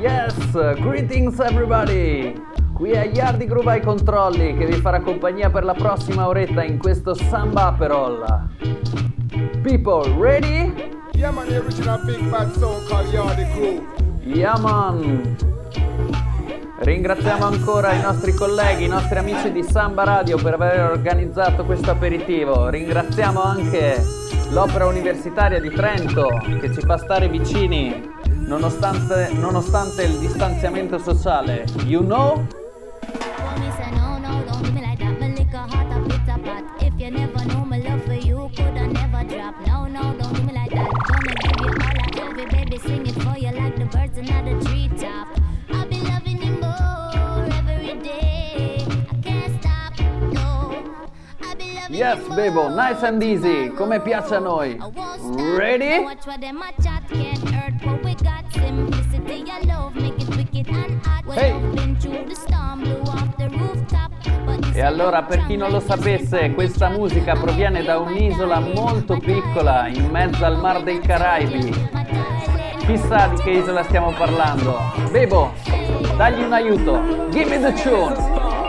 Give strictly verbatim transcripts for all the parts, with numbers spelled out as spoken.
Yes, greetings everybody! Qui è Yardi Groove ai controlli che vi farà compagnia per la prossima oretta in questo Samba Aperol. People, ready? Yeah man, the original big bad song called Yardi Groove. Yeah man! Ringraziamo ancora i nostri colleghi, i nostri amici di Samba Radio per aver organizzato questo aperitivo. Ringraziamo anche l'Opera Universitaria di Trento che ci fa stare vicini nonostante, nonostante il distanziamento sociale. You know? Yes, Bebo, nice and easy, come piace a noi. Ready? Hey! E allora, per chi non lo sapesse, questa musica proviene da un'isola molto piccola in mezzo al Mar dei Caraibi. Chissà di che isola stiamo parlando. Bebo, dagli un aiuto. Give me the tune.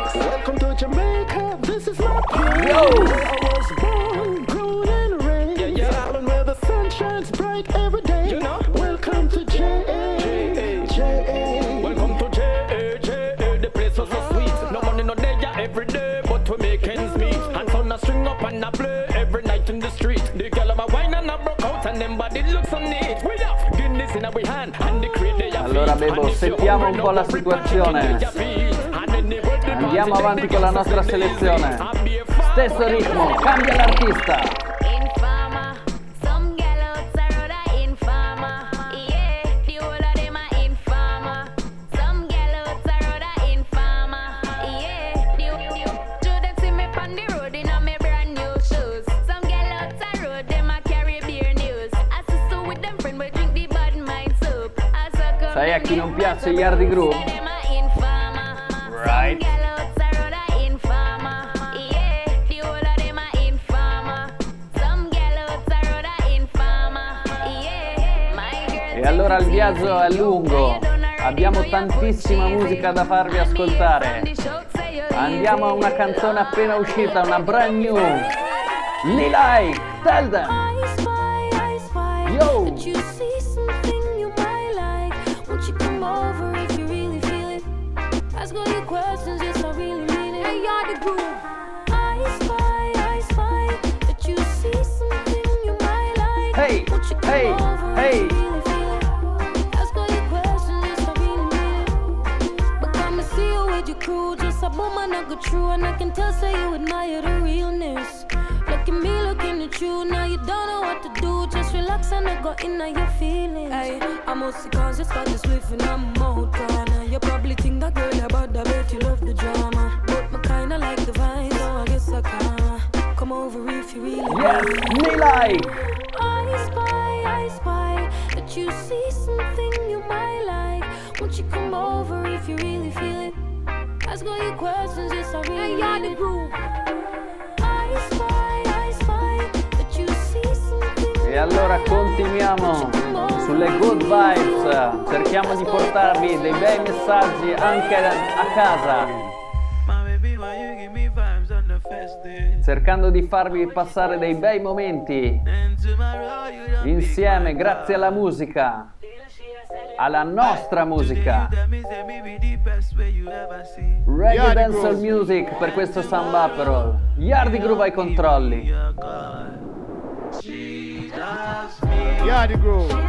Yo! I was born, grown and raised, yeah, yeah. Island where the sun shines bright every day. You know? Welcome to J A, J A. Welcome to J A, J A. The place was so sweet. No money no day, yeah, every day, but we make ends meet. And son a string up and a play every night in the street. The girl of a wine and a broke out and them body looks so neat. We have Guinness in our hand and the crate they have. Allora Bebo, settiamo un po' la situazione. Andiamo avanti con la nostra selezione. Stesso ritmo, cambia l'artista. Infama, some gallows are rather infama. Yeah, the whole of them are infama. Some gallows are rather infama. Yeah, the whole do them see me on the road in a me brand new shoes. Some gallows are road them a carry beer news. I sister with them friend we drink the bad mind soup. Sai a chi non piace Yardi Groove? Right. E allora il viaggio è lungo, abbiamo tantissima musica da farvi ascoltare. Andiamo a una canzone appena uscita, una brand new. Lilai, tell them! Yo! Hey, hey, hey! True, and I can tell, so you admire the realness. Look at me, looking at you. Now you don't know what to do. Just relax and I go in your feelings. Hey, I'm mostly conscious about this swift and I'm out corner. You probably think that girl about that, bet you love the drama. But me kinda like the vibe, so I guess I can come over if you really yes, me like. I spy, I spy that you see something you might like. Won't you come over if you really feel it? Ask all your questions, yes, I really need it. I spy, I spy that you see something. E allora continuiamo sulle good vibes, cerchiamo di portarvi dei bei messaggi anche a casa, cercando di farvi passare dei bei momenti insieme grazie alla musica, alla nostra musica. Reggae Dancehall Music per questo Samba Aperol. Yardi Groove ai controlli. Yardi Groove.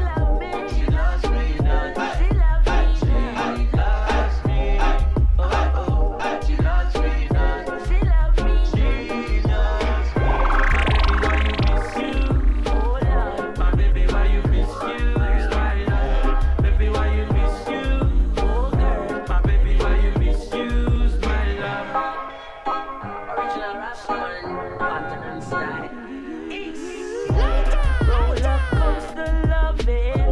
Roller coaster loving.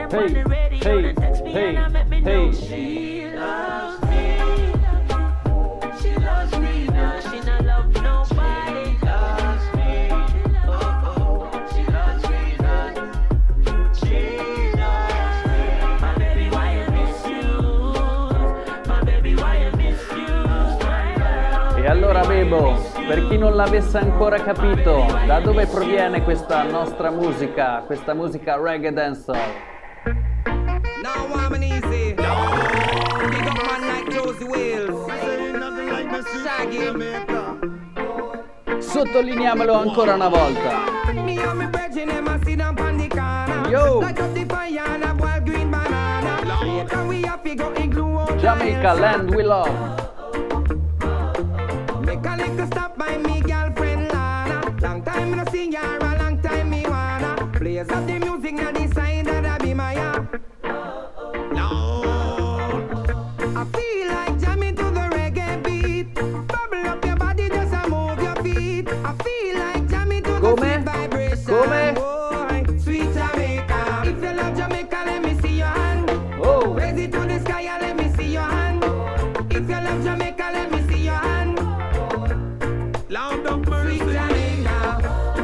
them Hey, on the radio, hey, they text me hey, and I make me know hey. she loves me. She loves me now. She not love nobody. She loves me. Oh oh, she loves me now. She loves me. My baby, why you misuse? My baby, why you misuse? My girl. E allora Bebo, per chi non l'avesse ancora capito, da dove proviene questa nostra musica, questa musica reggae dancehall? Now warm and easy. Big up man like Josie Wales. Shaggy. Sottolineiamolo ancora una volta. Me and me brethren, them a sit down pon the corner. Yo. Light up the fire and a wild green banana. Later we have to go igloo out. Jamaica, land we love. Make a little stop by me girlfriend Lana. Long time me no see her, a long time me wanna. Players of the music now decide that I be my uh. I feel like jamming to the reggae beat. Bubble up your body, just a move your feet. I feel like jamming to the Come? sweet vibration. Come? Boy, sweet Jamaica. If you love Jamaica, let me see your hand. Oh, Raise it to the sky and let me see your hand. If you love Jamaica, let me see your hand. Loud up sweet Jamaica.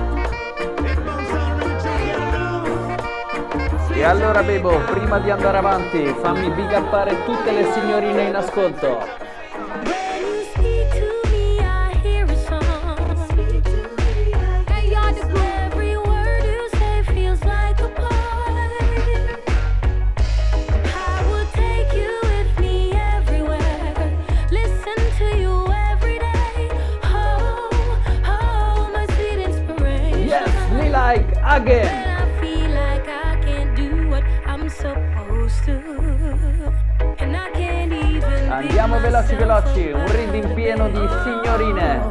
e allora Bebo, prima di andare avanti, fammi big uppare tutte le signorine in ascolto. When you speak to me, I hear a song. Hey, you're the blue. Every word you say feels like a poem. I would take you with me everywhere. Listen to you every day. Oh, oh, my sweet inspiration. Yes, me like again. When I feel like I can't do what I'm supposed to, and I can't even Andiamo be veloci myself veloci, un reading pieno di signorine.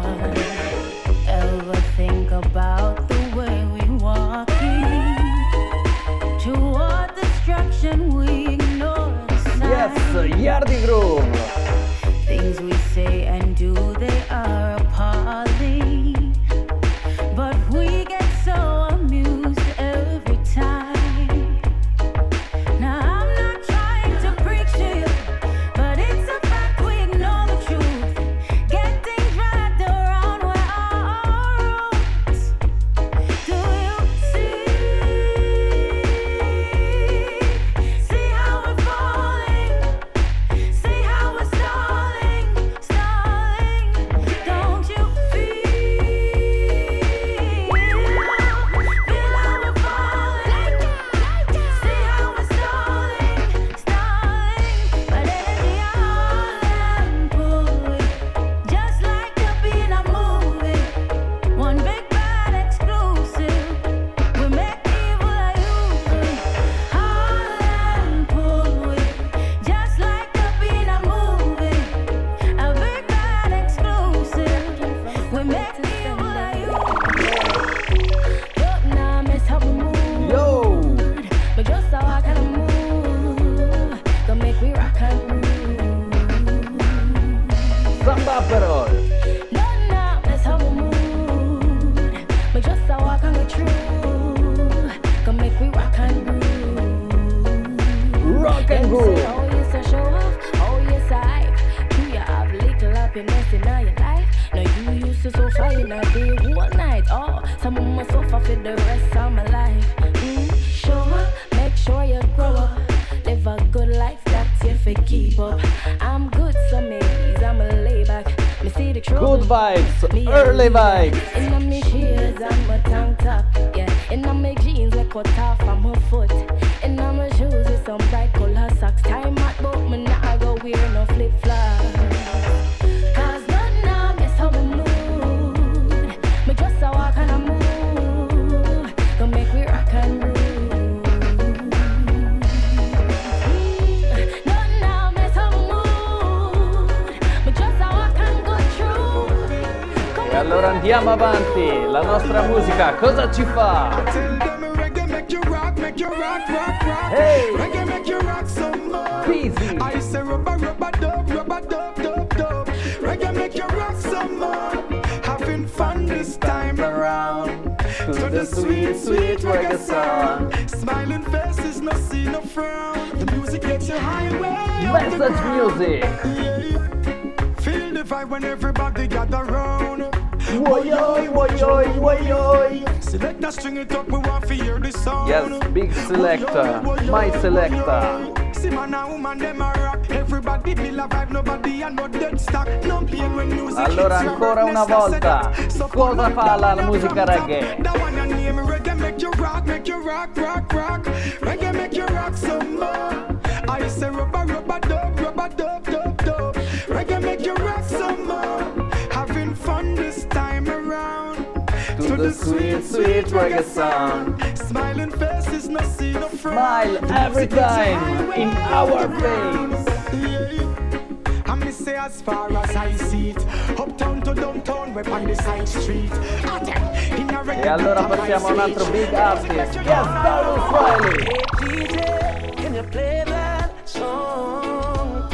Ever think about the way we walking toward destruction? We ignore the signs. Yes, Yardi Groove. Things we say and do, they are appalling, but we get so amused every time. Now I'm not trying to preach to you, but it's a fact we ignore the truth, getting dragged around where our roots. Do you see? See how we're falling? See how we're stalling, stalling? Don't you feel? Feel how we're falling? See how we're stalling, stalling? But energy all and pulling, just like a beat a movie. One big bad exclusive. We make evil a use it. All and pulling, just like a beat a movie. A big bad exclusive. We make evil a use it. Don't now miss how we move. Yo. But just how I kinda move, gonna make we rock and roll. Samba Perol. Don't now miss how we move, but just how I kinda true, gonna make we rock and roll. Rock and Them roll. say, oh yes, I show off, oh yes, I hype. Do you have little happiness in all your life? Now you used to suffer in a day, one night. Oh, some of my suffer for the rest of my life. Mm, show up, make sure you grow up. Live a good life, that's if you keep up. I'm good, so maybe I'm a lay back. Me see the truth. Good vibes, Me a early leader. vibes. In my shades and my tank top, yeah. In my jeans we cut off from my foot. In my shoes with some bright color socks. Time out, but me not go wear no flip flops. Cause none now miss how we move. Me just a walk and a move. Gonna make we rock and roll. Mm, none now miss how we move. Me just a walk and go through. Come E allora andiamo avanti, la nostra musica cosa ci fa? Tell them reggae make you rock, make you rock, rock, rock. Hey. Reggae make you rock some more. Easy. I say rubber, rubber, dub, rubber, dub, dub, dub. Reggae make you rock some more. Having fun this time around. To the sweet, sweet reggae song. Smiling faces, no see no frown. The music gets you highway. Message music. Feel the vibe when everybody gather round. Woyoi, woyoi, woyoi. Select the string it up, we want to hear the sound. Yes, big selector, my selector. See man and woman, them a rock. Everybody feel a vibe, nobody a no dead stock. No pain when music Allora hits your ancora una heart, volta, so cosa fa la musica reggae? That one your name, reggae make you rock, make you rock, rock, rock. Reggae make you rock some more. I say rubber, rubber, dub, rubber, dub, dub, dub. Reggae make you rock some more. Having fun this time around. To the sweet, sweet reggae sound. Smiling faces, no see no frown. Smile every time in our face. I miss say as far as I see it, uptown to downtown, we're on the side street. E allora passiamo a un altro big artist. Yes, Darryl Swiley. Hey D J, can you play that song?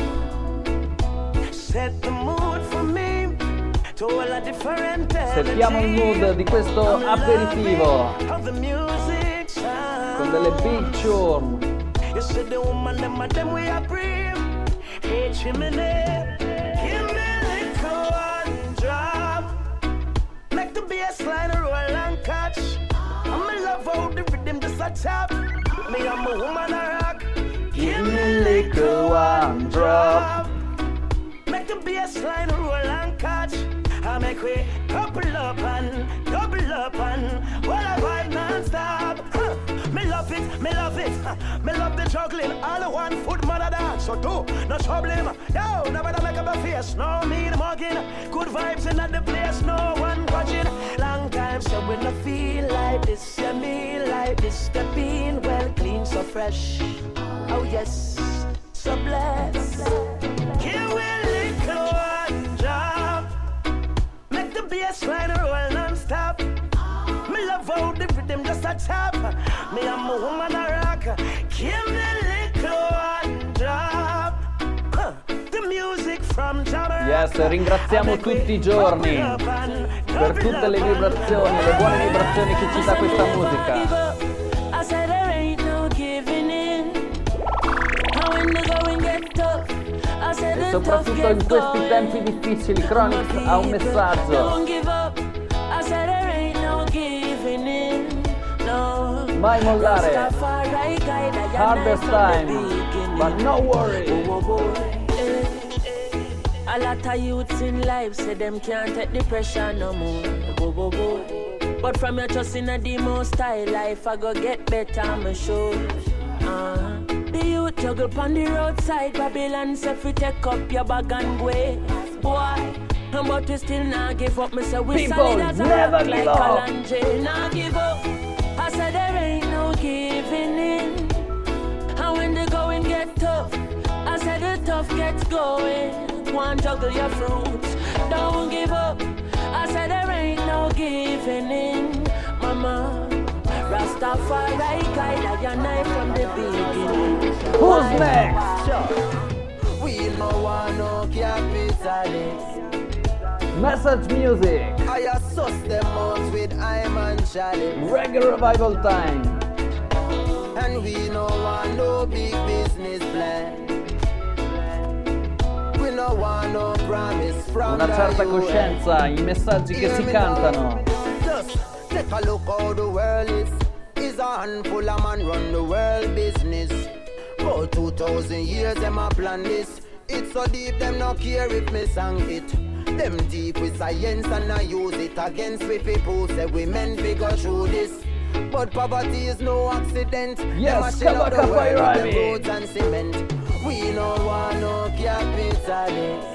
Set the mood for me to all a different Settiamo il mood di questo aperitivo of the music sound. con delle big tune. You said the woman, them and them we are brave. Hey chimney, give me a little one drop. Make the bass line roll and catch. I'm in love how the rhythm just a tap. Me and my woman a rock. Give me a little one drop. Make the bass line roll and catch. I make we couple up and double up and while I vibe non-stop. Huh. Me love it, me love it. Huh. Me love the juggling. All the one foot mother dance. So do no trouble him. Yo, nobody make up a face. No me the mugging. Good vibes in the place. No one watching. Long time so when I feel like this, yeah me like this. The bean well clean so fresh. Oh yes, so blessed. Here we little one drop. Make the bass line roll non-stop. Me love how the rhythm just a tap. Me and my woman a rock. Give me little one drop. Huh. The music from Jabber. Yes, ringraziamo tutti i giorni per tutte le vibrazioni, le buone vibrazioni che ci dà questa musica. I said there ain't no giving in. How when the going get tough. I said E the soprattutto tough in gets questi going. tempi difficili, Chronix ha un messaggio. Don't give up. I said there ain't no giving in. No. Mai mollare. Rastafari guide I Hardest from the time, beginning. but no worry. Oh, oh, oh. Eh, eh. A lot of youths in life say them can't take the pressure no more. Oh, oh, oh. But from your trust in a demo style life, I go get better, I'm sure. Uh, the youth juggle on the roadside, Babylon say fi take up your bag and go. Boy, but we still not give up. Me say we People solid as a never rock give like up. Kalanje. Not give up. I said there ain't no giving in. And when the going get tough, I said the tough gets going. One juggle your fruits, don't give up. I said there ain't no giving in, mama. Rastafari guide I and I from the beginning. Who's next? We no want no capitalist. Message music. I assess them out with I'm and chalice. Reggae revival time. And we no want no big business plan. We no want no promise from Una certa the U N. coscienza, i messaggi che si cantano. Just take a look how the world is. Is a handful of man run the world business. For two thousand years them a plan this. It's so deep them no care if me sang it. Them deep with science and I use it against we people say we men figure through this. But poverty is no accident. Yes, Them a shell out the Kabaka world with Bayrami. them roads and cement. We no want no capitalist.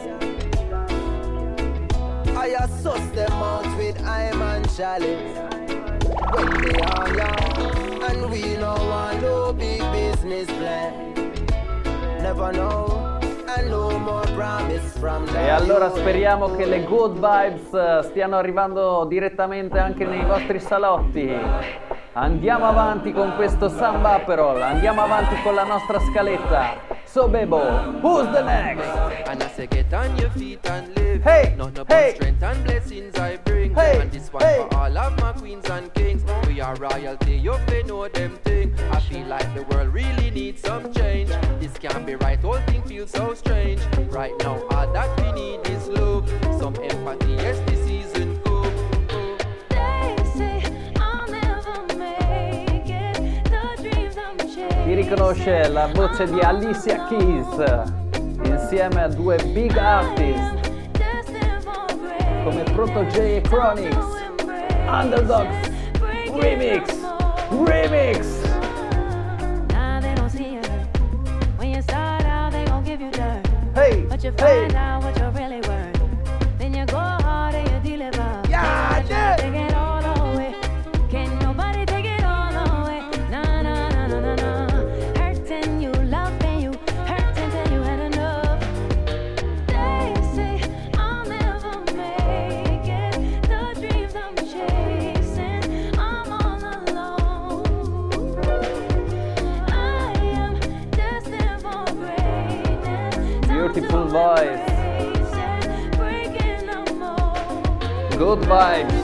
I assess them out with I'm and chalice. When they are young, and we no want no big business plan. Never know, and no more promise from the E allora U N. speriamo che le good vibes eh, stiano arrivando direttamente anche nei vostri salotti. Andiamo avanti con questo Samba Aperol, andiamo avanti con la nostra scaletta. So Bebo, who's the next? And I say get on your feet and live. Hey, Not no hey. strength and blessings I bring. Hey, And this one hey. for all of my queens and kings. We are royalty, you fi know them thing. I feel like the world really need some change. This can't be right, whole thing feels so strange. Right now, all that we need is love, some empathy, yes, this season go. They say I'll never make it. The dreams I'm chasing. Chi riconosce la voce di Alicia Keys insieme a due big artist come Protoje e Chronix, Underdogs Remix, Remix. Now they don't see it. When you start out, they gon' give you dirt. Hey, But you hey. find out what you're really worth. Then you go hard and you deliver. Yeah, yeah. Take it all away. Can nobody take it all away? Nah, nah, nah, nah, nah, nah. Hurting you, loving you, hurting till you had enough. They say I'll never make it. The dreams I'm chasing, I'm all alone. I am destined for greatness. Beautiful voice. Breaking the mold. Good vibes.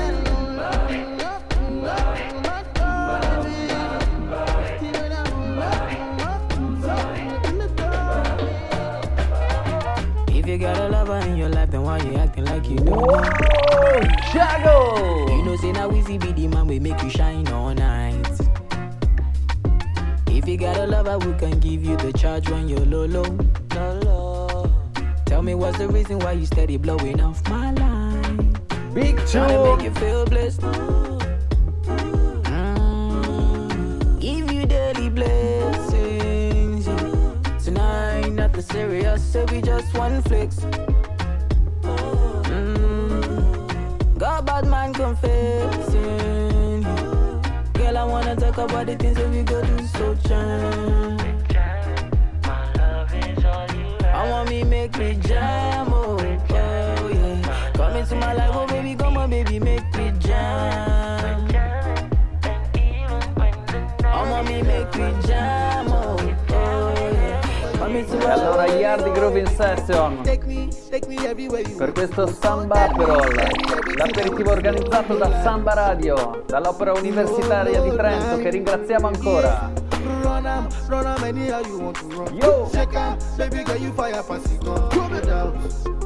If you got a lover in your life, then why you acting like you don't? Whoa, Jago. You know, say now Weezy be the man we make you shine all night. If you got a lover, we can give you the charge when you're low, low, low, low. Tell me what's the reason why you steady blowing off my line? Big Trying to make you tune. feel blessed. Mm, give you daily blessings. Yeah. Tonight, nothing serious, so we just one flex. Mm, got bad man confessing. Girl, I wanna talk about the things that we go do so jam. I want me make me jam, oh, oh yeah. Come into my life, oh baby, come on baby, make me jam. I want me make me jam, oh, oh yeah. Come into E my allora life. Yardi Grooving Session per questo Samba Aperol, l'aperitivo organizzato da Samba Radio, dall'Opera Universitaria di Trento, che ringraziamo ancora. Run am, run am anyhow you want to run. Yo. Check am, baby girl you fire pass it on. No doubt,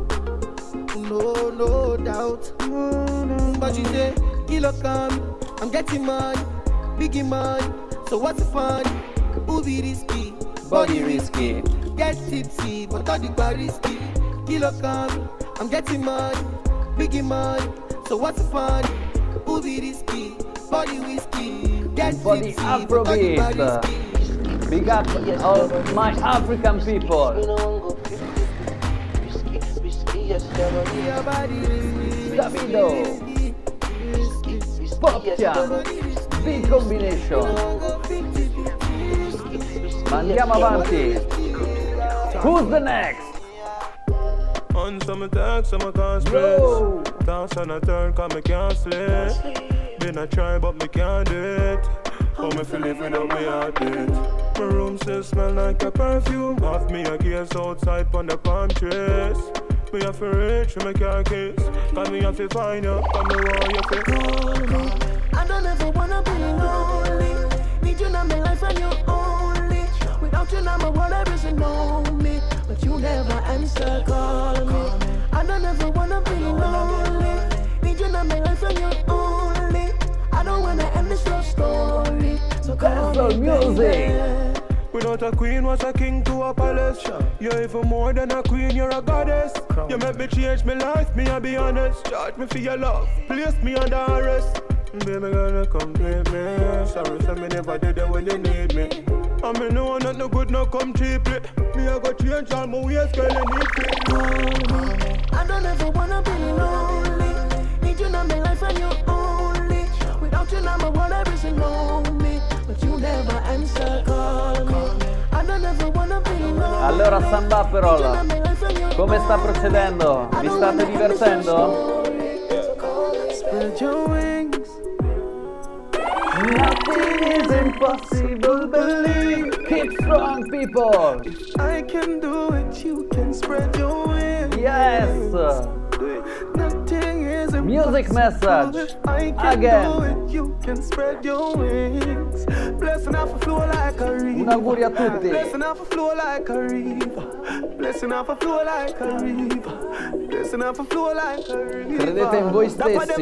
no no doubt. But you say, kilo come, I'm getting money, biggie money. So what's the fun? Who be risky, Body risky. get tipsy, but all the bar risky. Kilo come, I'm getting money, biggie money. So what's the fun? Who be risky, body whiskey, get Body tipsy, but all the bar Afrobeat. risky. Big up all my African people. Your body risky, Davido. risky, risky, risky. Popchiam. Big combination. Ma andiamo avanti. Who's the next? On some tax, some can't Yo. stress. Dance on a turn, cause me can't sleep. Been a try, but me can't do it. How me feel if without me heartbeat? My room still smell like a perfume. Half me a gaze outside on the palm trees. Me have to reach for my car keys. Cause me have to find you, cause me want you to hold me. I don't ever wanna be lonely. Need you now, my life and you only. Without you now, my world there isn't know me. But you never answer, call me. I don't ever wanna be lonely. Need you now, my life and you only. I don't wanna end this love story. So call That's me, the music. baby. Without a queen, was a king to a palace. You're even more than a queen, you're a goddess. You make me change my life, me I be honest. Charge me for your love, place me under arrest. Baby, gonna complete me. Sorry, so me never did it when you need me. I mean, no one not no good, no come cheaply. Me I go change all my ways, girl, you need me. I don't ever wanna be lonely. Need you now, my life and you only. Without you now, my world there isn't know me. But you never answer, call me. I don't ever wanna be lonely. Allora Samba Aperol, come sta procedendo? Vi state divertendo? Spread your wings. Nothing is impossible, believe. Keep strong, people. I can do it, you can spread your wings. Yes. Nothing is impossible. Music message I can again. do it, you can spread your wings. Blessing off a flow like a river. Un augurio a tutti. Blessing off a flow like a river. Blessing off a flow like a river. Blessing off a flow like a river. Credete in voi stessi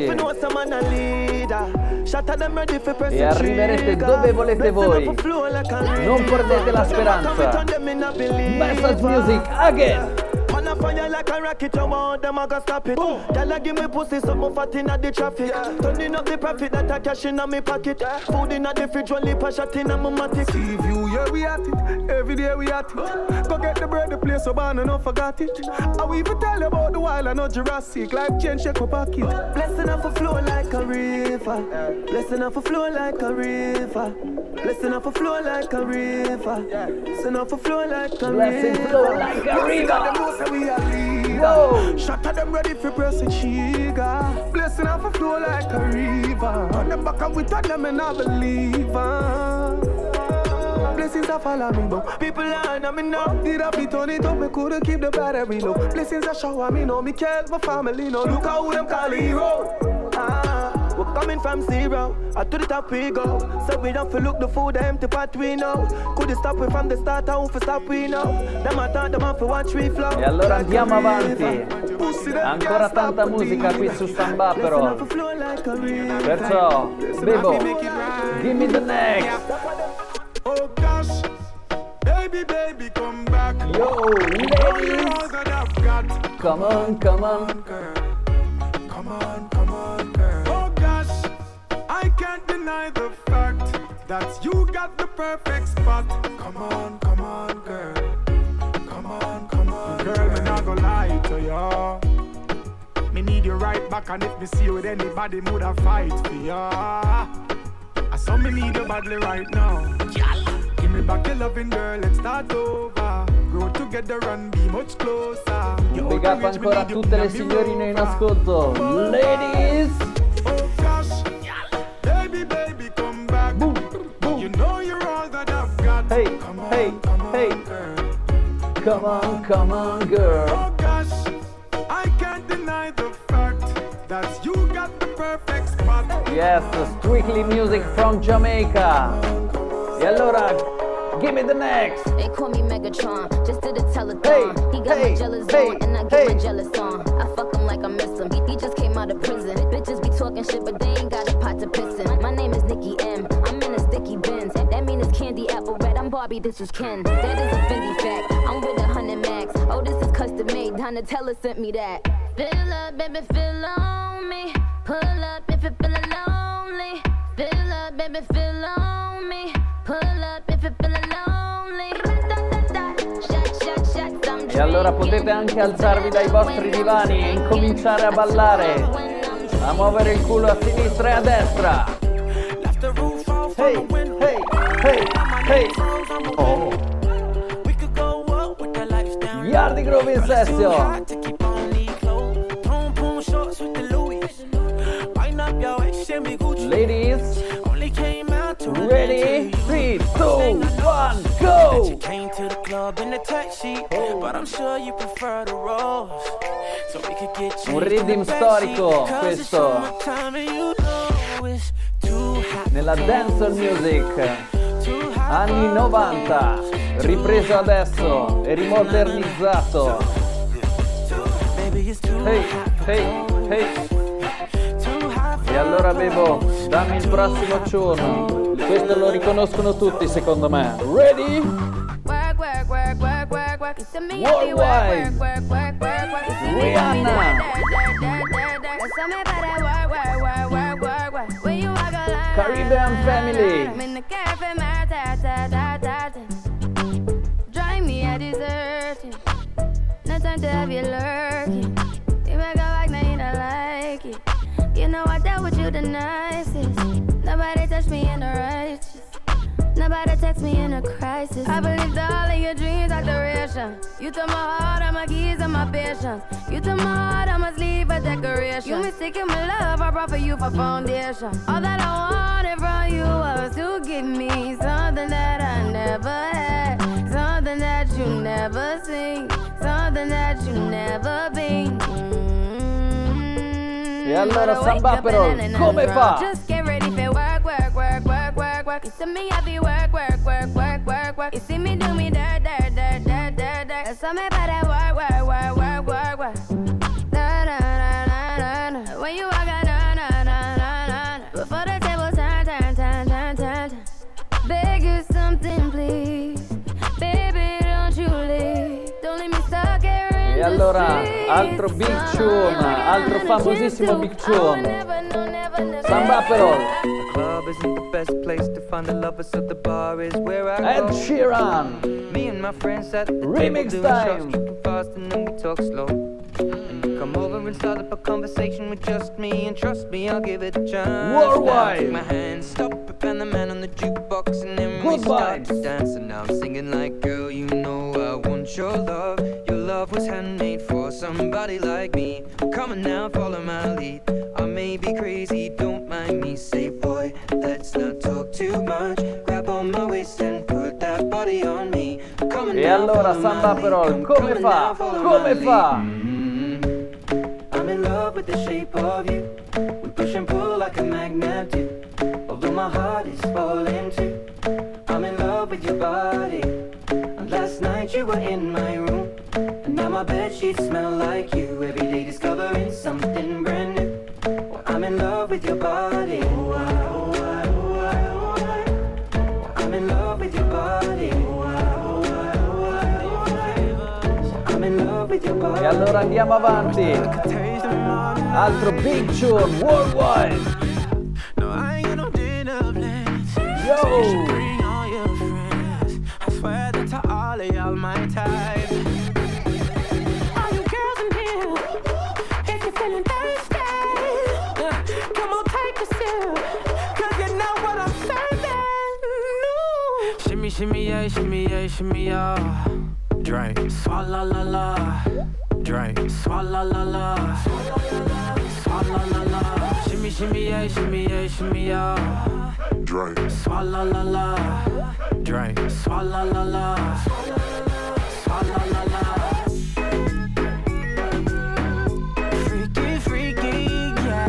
e arriverete dove volete voi. Non perdete la speranza. Message music again. Man a fire like a rocket, you want them a go stop it. Girl a give me pussy, something fat inna the traffic. Turning up the profit that I cash inna me pocket. Food inna the fridge, one lip a shot inna my matic. See view, yeah we at it. Every day we at it. Go get the bread, the place so bad and not forgot it. I will even tell you about the wild and not Jurassic. Life change, shake my pocket. Blessing off a flow like a river. Blessing off a flow like a river. Blessing off a flow like a river. Blessing off a flow like a river. Blessing flow like a river. We are leader. Shot at them ready for press a trigger. Blessing off a flow like a river. On the back and we turn them and I believe. Blessings are follow me though. People are on me now. Did I be turn it up? Me couldn't keep the battery low. Blessings are shower me know. Me care my family know. Look how them call hero. Ah, we're coming from zero, up to the top we go. So we don't feel look the food, the empty pot we know. Could you stop it from the start, how to stop we know. Them I thought them off for watch we flow. E allora andiamo avanti. Ancora tanta musica qui su Samba però. Perciò, Bebo, give me the next. Oh gosh, baby, baby, come back. Yo, ladies. Come on, come on. Come on, come on, girl. Oh gosh, I can't deny the fact that you got the perfect spot. Come on, come on, girl. Come on, come on, girl. Me not gonna lie to ya. Me need you right back, and if me see you with anybody, woulda fight for ya. I saw me need you badly right now. Give me back your loving, girl. Let's start over. Grow together and be much closer. Un big up ancora a tutte le signorine in ascolto. Ladies! Oh gosh, baby, baby, come back. Boom, boom. You know you're all that I've got. Hey, come on, hey, come on, hey. girl. Come on, come on, girl. Oh gosh, I can't deny the fact that you got the perfect spot. Yes, strictly music from Jamaica. E allora, give me the next. They call me Megatron, just did a telethon. Hey, he got hey, my jealous hey, on, and I get hey. my jealous on. I fuck him like I miss him. He, he just came out of prison. Bitches be talking shit, but they ain't got a pot to piss in. My name is Nicki M. I'm in a sticky Benz. That mean it's candy apple red. I'm Barbie, this is Ken. That is a Fendi fact. I'm with a hundred max. Oh, this is custom made. Donatella sent me that. Fill up, baby, fill on me. Pull up if you're feeling lonely. Fill up, baby, fill on me. Pull up if you're feeling lonely. Shot, shot, shot, I'm E allora potete anche alzarvi dai vostri divani e incominciare a ballare, a muovere il culo a sinistra e a destra. Hey, hey, hey, hey. Oh. Yardi Groove in session. Ladies, ready? three, two, one, go! Came to the club in a tight sheet, but I'm sure you prefer the rose. So we could get you Un rhythm storico questo nella dancehall music anni novanta, ripreso adesso e rimodernizzato. Hey, hey, hey. E allora Bebo, dammi il prossimo tune. Questo lo riconoscono tutti secondo me. Ready? Work, work, work, work, work, work. You send me Worldwide. work, work, work, work, work. You see me Rihanna. dirt, dirt, dirt, dirt, dirt. That's something about that work, work, work, work, work, work. When you walk a line, Caribbean family. I'm in the cafe, my ta ta ta ta ta. Drive me a dessert. No time to have you lurking. You make a like, now you don't like it. You know I dealt with you the nicest. Nobody touched me in the righteous. Nobody text me in a crisis. I believed all of your dreams are duration. You took my heart, all my keys, and my patience. You took my heart, I must leave a decoration. You mistaken my love, I brought for you for foundation. All that I wanted from you was to give me something that I never had, something that you never seen, something that you never been. Mm-hmm. E allora Samba però come fa? Just get ready for work, work, work, work, work, work. You see me happy work, work, work, work, work, work. You see me do me dirt, dirt, dirt, dirt, dirt, dirt. That's how me better work, work, work, work, work, work. Na na na na na na. When you walk out, na na na na na. Before the table turn, turn, turn, turn, turn, turn. Beg you something, please, baby, don't you leave. Don't leave me stuck here in E the allora streets. altro Big Tune, altro famosissimo Big Tune, Samba Perol. The club isn't the best place to find the lovers, so the bar is where I Ed go. Sheeran. Me and my friends at the Remix table doing shots, time. tripping fast and then we talk slow. And you come over and start up a conversation with just me, and trust me, I'll give it a chance. Worldwide. Now take my hand, stop it, and the man on the jukebox, and then we Good start vibes. to dance. And now I'm singing like, girl, you know I want your love. Your love was handmade for somebody like me. Come on now, follow my lead. I may be crazy, don't mind me. Say, boy, let's not talk too much. Grab on my waist and put that body on me. Come on E now, allora follow Samba my Perol lead. come Come on fa? now, follow my Come lead. fa? I'm in love with the shape of you. We push and pull like a magnet do. Although my heart is falling too. I'm in love with your body. And last night you were in my room. And now my bedsheets smell like you. Every day discovering something brand new. Well, I'm in love with your body. Oh, I, oh, I, oh, I, oh, I. I'm in love with your body. Oh, I, oh, I, oh, I, oh, I. I'm in love with your body. E allora andiamo avanti. Altro Big Tune Worldwide. No, I ain't got no dinner plans. Yo. So you should bring all your friends. I swear that to all of y'all my type. All you girls in here, if you're feeling thirsty, uh, come on, take a sip, 'cause you know what I'm serving. No. Shimmy, shimmy, yeah, shimmy, yeah, shimmy, yeah. Drink, swalla la la. Drink, swalla la la. Swalla la la. Shimmy, shimmy, yeah, shimmy, yeah, shimmy, yeah. Drink, swalla la la. Drink, swalla la la. Swalla la la. Freaky, freaky,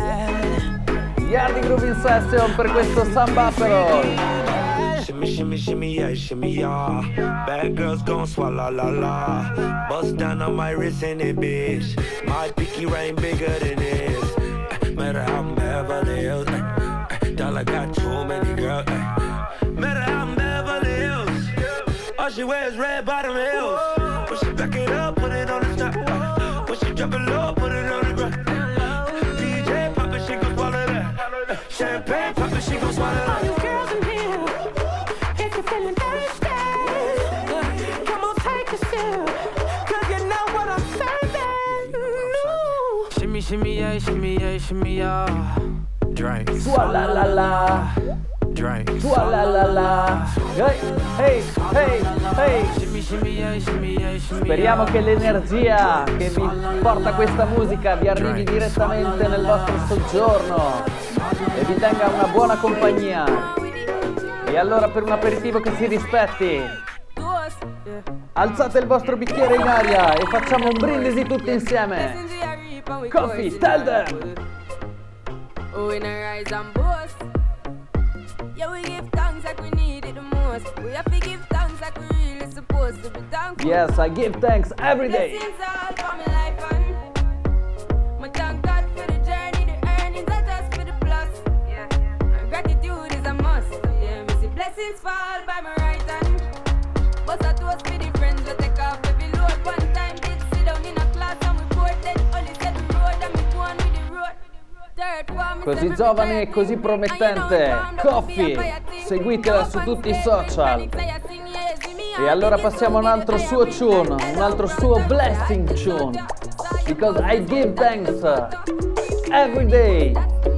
yeah. Yardi Grooving Session per questo Samba Perol. Shimmy, shimmy, shimmy, yeah, shimmy, yeah. Bad girls gon' swallow la la. Bust down on my wrist in it, bitch. My pinky ring bigger than this. Uh, matter how I'm Beverly Hills. Uh, uh, dollar got too many girls. Uh, matter how I'm Beverly Hills. All she wears red bottom heels. When she back it up, put it on the top. Uh, when she drop it low, put it on the ground. Uh, D J pop it, she gon' swallow that. Uh, champagne pop it, she gon' swallow that. All you girls in here, if you're feeling thirsty, uh, come on, take a sip, 'cause you know what I'm serving. No. Shimmy, shimmy, yeah, shimmy, yeah, shimmy, yeah. Drink. Swalla la la. Drink. Swalla la la. Hey, hey, hey, hey. Shimmy, shimmy, yeah, shimmy, yeah, shimmy, Speriamo yeah. che l'energia che vi porta questa musica vi arrivi direttamente nel vostro soggiorno e vi tenga una buona compagnia. E allora per un aperitivo che si rispetti, alzate il vostro bicchiere in aria e facciamo un brindisi tutti insieme. Coffee, tell them. Oh, in a rise and boast. Yeah, we give thanks like we need it the most. We have to give thanks like we really supposed to be thankful. Yes, I give thanks every day. Blessings all for my life and my thank God for the journey, the earnings are just for the plus. Yeah, and gratitude is a must. Yeah, we see blessings fall by my right hand. But I toast for the friends we take off every load. One time did sit down in a class and we poured that only said the road and we go on with the road. Così giovane e così promettente, Coffee, seguitela su tutti i social. E allora passiamo a un altro suo tune, un altro suo blessing tune. Because I give thanks every day.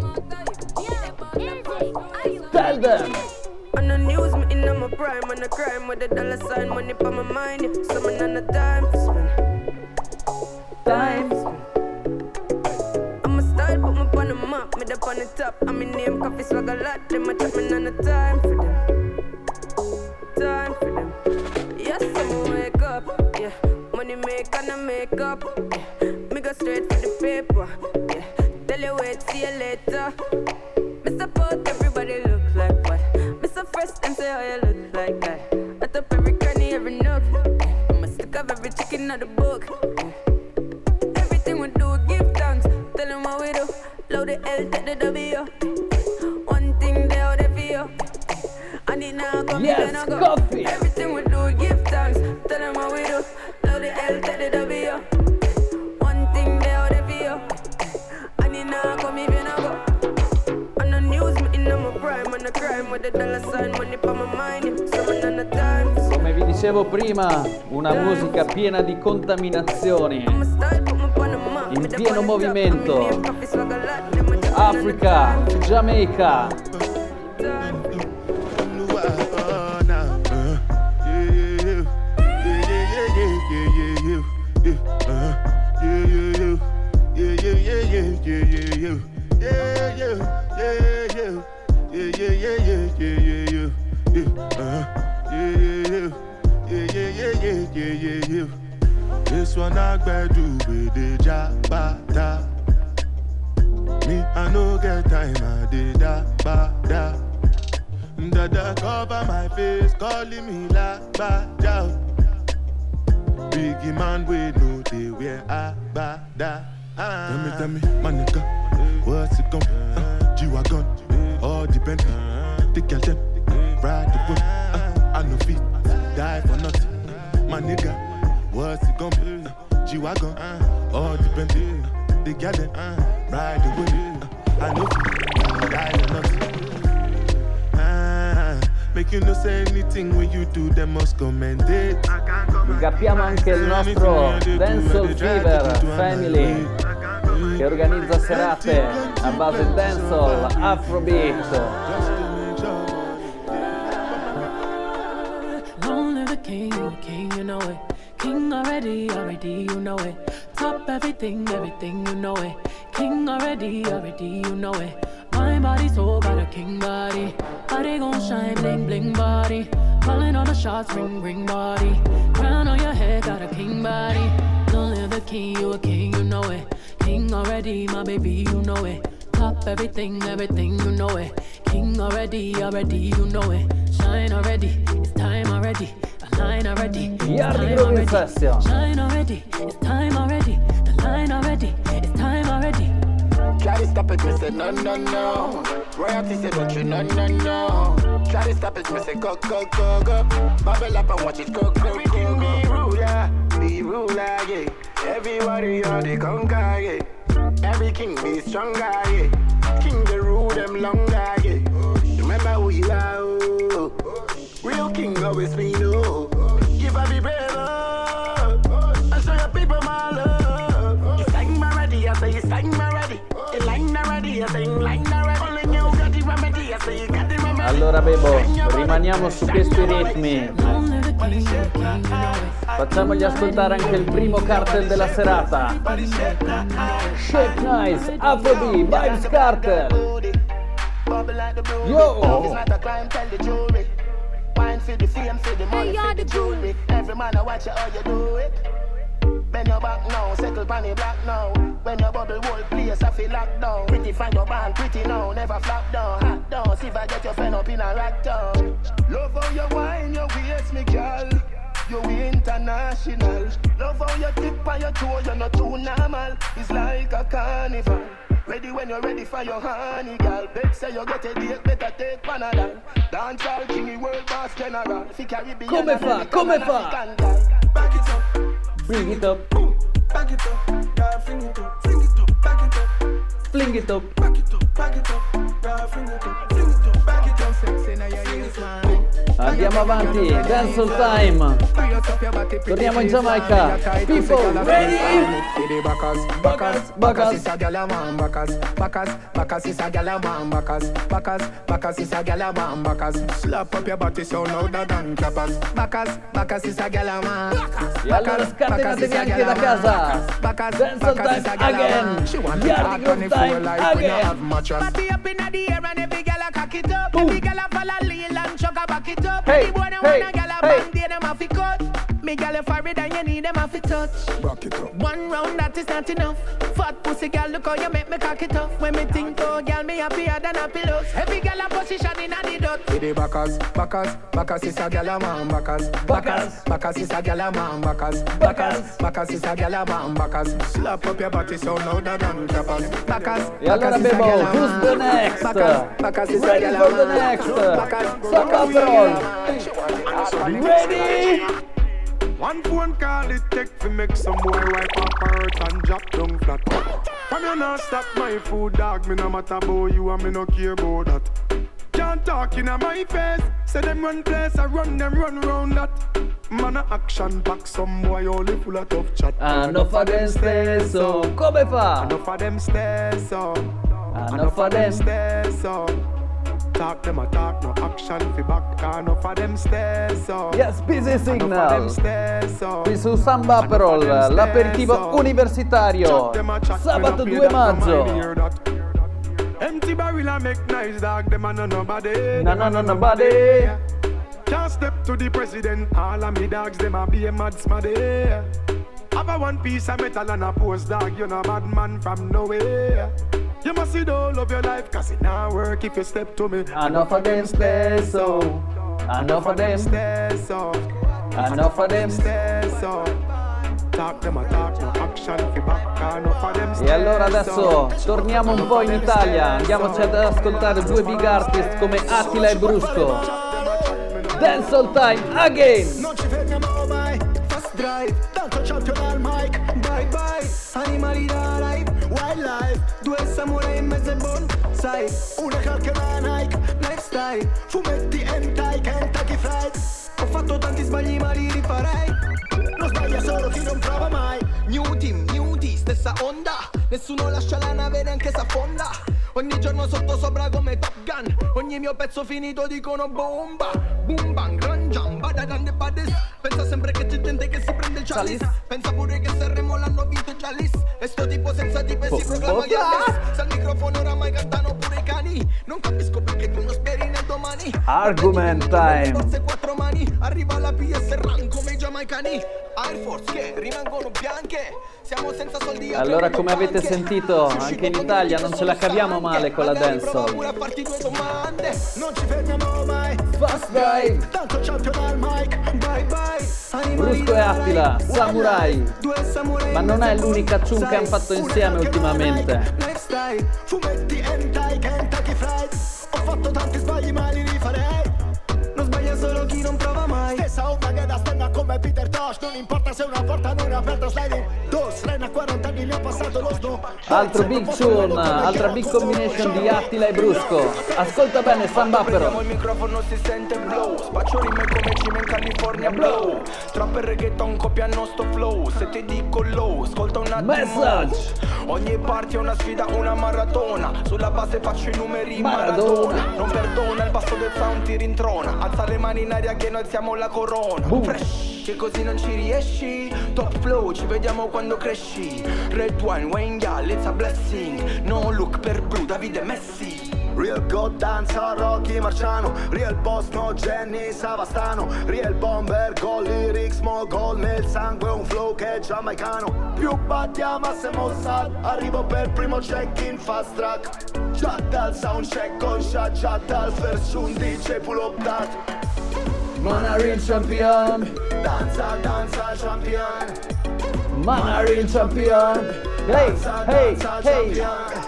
Tell them. On the news, me in my prime, on the crime with the dollar sign, money for my mind. Yeah. Someone on the time to spend. Time to spend. Put me on the map, me up on the top. I'm in name, Coffee swag a lot. Them a chat me on the time for them. Time for them. Yes, I'ma wake up. Yeah, money make and I make up. Yeah, me go straight for the paper. Yeah, tell you wait, see you later. Mister Pot, everybody look like what? Mister First, them say how you look like that. I top every cranny, every nook. I'ma stick up every chicken out the book. Everything we do, give thanks. Tell them what we do. Load the L, take the W. One thing they out there for you. And it now come Yes, in and go. coffee. Everything we do, give thanks. Tell them what we do. Load the L, take the W. One thing they out there for you. And it now come even and go. On the news, me in my prime. On the crime with the dollar sign, money for my mind. Someone on the time. Come vi dicevo prima, una musica piena di contaminazioni, in pieno movimento. Africa, Jamaica. This one I better do with the jabata. Me, I no get time, I did da ba da. Dada cover my face, calling me la ba da. Biggie man, we know they wear a ba da. Tell me, tell me, my nigga, what's it gon' uh, G-Wagon, all the Bentley, the girl them, ride the whip. uh, I no fit, die for nothing. My nigga, what's it gon' be? Uh, G-Wagon, uh, all the Bentley, uh, the girl them, uh, ride the whip. uh, I no fit, die for nothing. uh, Make you no say anything when you do, they must commend it. Ingappiamo anche il nostro Dancehall Fever Family, che organizza serate a base dancehall, afrobeat. Long live the king, you a king, you know it. King already, already, you know it. Top everything, everything, you know it. King already, already, you know it. My body so got a king body. Body gon' shine, bling, bling body. Calling all the shots, ring, ring body. Crown on your head, got a king body. Long live the king, you a king, you know it. King already, my baby, you know it. Top everything, everything, you know it. King already, already, you know it. Shine already, it's time already. The line already, it's Yardi time already. Session. Shine already, it's time already. The line already, it's time already. Try to stop it, me say no, no, no. Royalty say don't you, no, no, no. Try to stop it, me say go, go, go, go. Bubble up and watch it go, go, go, go. Be ruler, be ruler, yeah. Everybody on the conquer, yeah. Every king be stronger, yeah. King the rule them longer, yeah. Remember who you are, oh. Real king always be no. Give up be brave, oh. And show your people my love. You sang my ready, I say you sang my ready. You line already, I say you line already. Only you got the remedy, I say you got the remedy. Allora Bebo, rimaniamo su questi ritmi. Facciamogli ascoltare anche il primo cartel della serata. Shake Nice, Afrobeat, Vibes Cartel. Yo! Wine for the fame, for the money, for the jewelry. Every man I watch you how you do it. Bend your back now, circle panny black now. When your bubble whole place I feel locked down. Pretty find your band, pretty now, never flop down. Hot down, see if I get your friend up in a rack down. Love how you wine, your waist, me girl. You international. Love how you tip on your toe, you're not too normal. It's like a carnival. Ready when you're ready for your honey, girl. Bet say you get a date, better take Panadol. Dance all king, world boss general. Fi Caribbean, Come fa, come fa? Back it up, Bring it up, back it up, girl, fling it up, fling it up, back it up, fling it up. back it up, back it up, girl, fling it up, fling it up, back it up, sexy now your ears, man. Andiamo avanti, Dancehall Time. Torniamo in Giamaica. People, ready? Bacchus, Bacchus, Bacchus is a gyal a man. Bacchus, Bacchus, Bacchus is a gyal a man. Bacchus, Bacchus, Bacchus is a gyal a man. Bacchus, slap up your body so louder than clappers. Bacchus, Bacchus is a gyal a man. E allora scatenatevi anche da casa. Dancehall Time again. Yardi Groove Time again. Party up inna the air and every gyal a cock it up. Every gyal a follow lean and chuck a back it up. Hey, Any boy that hey, wanna gyal a hey. band, they them have to cut. Me girl, you for it and you need them off it touch. Back it up. One round that is not enough. Fat pussy girl, look how you make me cock it up. When me think, oh girl, me happier than a pillows. Every girl a position in a the dot. With the backers, backers, backers is a gyal a man backers. Backers, backers is a gyal a man backers. Backers, backers is a gyal a man backers. Slap up your body so louder than clappers. Backers, E allora abbiamo Who's the Next? Ready for the next? Samba Patrol. Ready? One phone call it take to make some boy wipe up her hurt and drop down flat. From you not stop my food, dog. Me no matter about you and me no care about that. Can't talk in my face. Say them run place, I run them run round that. Man a action pack, some boy only full of tough chat. Hanno fa them stesso. Come fa? Hanno fa them stesso. Hanno fa them stesso. Talk them a talk, no action fi back. Hanno fa them stesso. Yes, Busy Signal. Qui su Samba Patrol, l'aperitivo universitario. Sabato due maggio. Empty barrel and make nice dog, them a no nobody. No, no, no, nobody. Can't step to the president, all of me dogs, them a be a mad smaddy. Have a one piece of metal and a post dog, you know bad man from nowhere. You must see the whole of your life, cause it not work if you step to me. Enough of them stesso. Enough of them stesso. Enough of them stesso. Talk them a talk, no action fi back, enough of them stesso. E allora adesso torniamo un po' in Italia, andiamoci ad ascoltare due big artist come Attila e Brusco. Dance all time again. Non ci fermiamo mai, fast drive, tanto champion al mic, bye bye, animali da live, wildlife, due samurai in mezzo ai bonsai, una calca da Nike, lifestyle, fumetti hentai, Kentucky Fried, ho fatto tanti sbagli ma li rifarei, non sbaglia solo chi non prova mai, new team, new team, stessa onda, nessuno lascia la nave neanche s'affonda. Ogni giorno sotto sopra come Top Gun. Ogni mio pezzo finito dicono bomba. Boom bang, gran jamba, da grande badis. Pensa sempre che c'è gente che si prende il chalice. Pensa pure che Sanremo l'hanno vinto già lì. E sto tipo senza tipo e si proclama Giannis. Se al microfono oramai cantano pure i cani. Non capisco perché tu non speri nel domani. Argument time. Forse quattro mani. Arriva la P S Run come i giamaicani. Air Force che rimangono bianche. Siamo senza soldi. Allora, come avete sentito, anche in Italia non ce la caviamo male con la dancehall. Non ci fermiamo mai. Fast drive. Tanto champion al mic. Bye bye. Brusco e Attila, Samurai. Ma non è l'unica ciun che hanno fatto insieme ultimamente. Lifestyle, fumetti hentai, Kentucky Fried. Ho fatto tanti sbagli ma li rifarei. Non sbaglia solo chi non prova mai. Stessa onda che da stenna come Peter Tosh. Non importa se una porta non è aperta, sliding dos. Reina a quaranta anni mi ha passato lo snow. Altro big tune, altra big combination di Attila e Brusco. Ascolta bene Samba Patrol. Il microfono si sente blow. Spaccio rime come Cime in California blow. Trap e reggaeton copiano sto flow. Se ti dico low, ascolta un attimo. Message. Ogni party è una sfida, una maratona. Sulla base faccio i numeri maratona. maratona. Non perdona, il basso del sound ti rintrona. Alza le mani in aria che noi alziamo la corona. Boom. Fresh, che così non ci riesci. Top flow, ci vediamo quando cresci. Red wine, Wayne Gal, it's a blessing. No look per Blue, Davide Messi. Real God danza Rocky Marciano. Real boss no Jenny Savastano. Real bomber, gol lyrics, mo gol nel sangue. Un flow che è giamaicano. Più battiamo a Mossad. Arrivo per primo check in fast track. Già dal sound check con shot. Già dal first un D J pull up that. Mana real champion. Danza, danza champion. Mana real champion. Hey, hey, hey.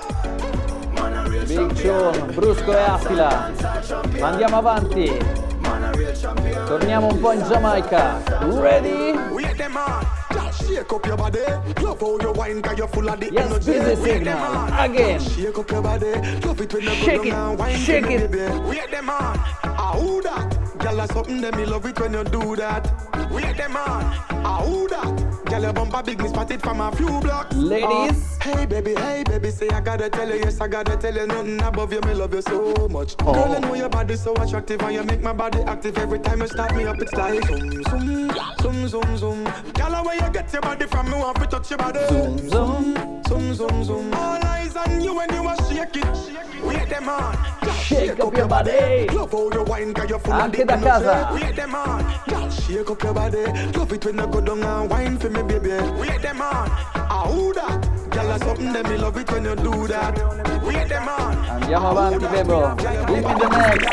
Big tune, Brusco e Attila. Ma andiamo avanti. Torniamo un po' in Giamaica. Ready? Shake up your body, love how you wine, cause you're full of the yes, energy. Busy Signal, again. Shake up your body, love it when you shake go down, it, wine shake to me, it. baby. Wait them on, ah who that? Girl, that's something that me love it when you do that. Wait them on, ah who that? Girl, your bumper big, me spotted from a few blocks. Ladies. Uh, hey baby, hey baby, say I gotta tell you, yes I gotta tell you, nothing above you, me love you so much. Oh. Girl, I know your body so attractive and you make my body active every time you start me up. It's like zoom, zoom, zoom, zoom, zoom. Girl, where you get your body from, me want to touch your body. Zoom, zoom, zoom, zoom, zoom. All eyes on you when you a shake it. Wait them on. Shake up your body. Love how you wine, cause you're full Anche of da casa. Wait them on, girl, shake up your body. Love it when you go down and wine for me, baby. Wait them on, ah who that? Girl, that's something that me love it when you do that. Wait them on. Andiamo avanti, Bebo. Give me the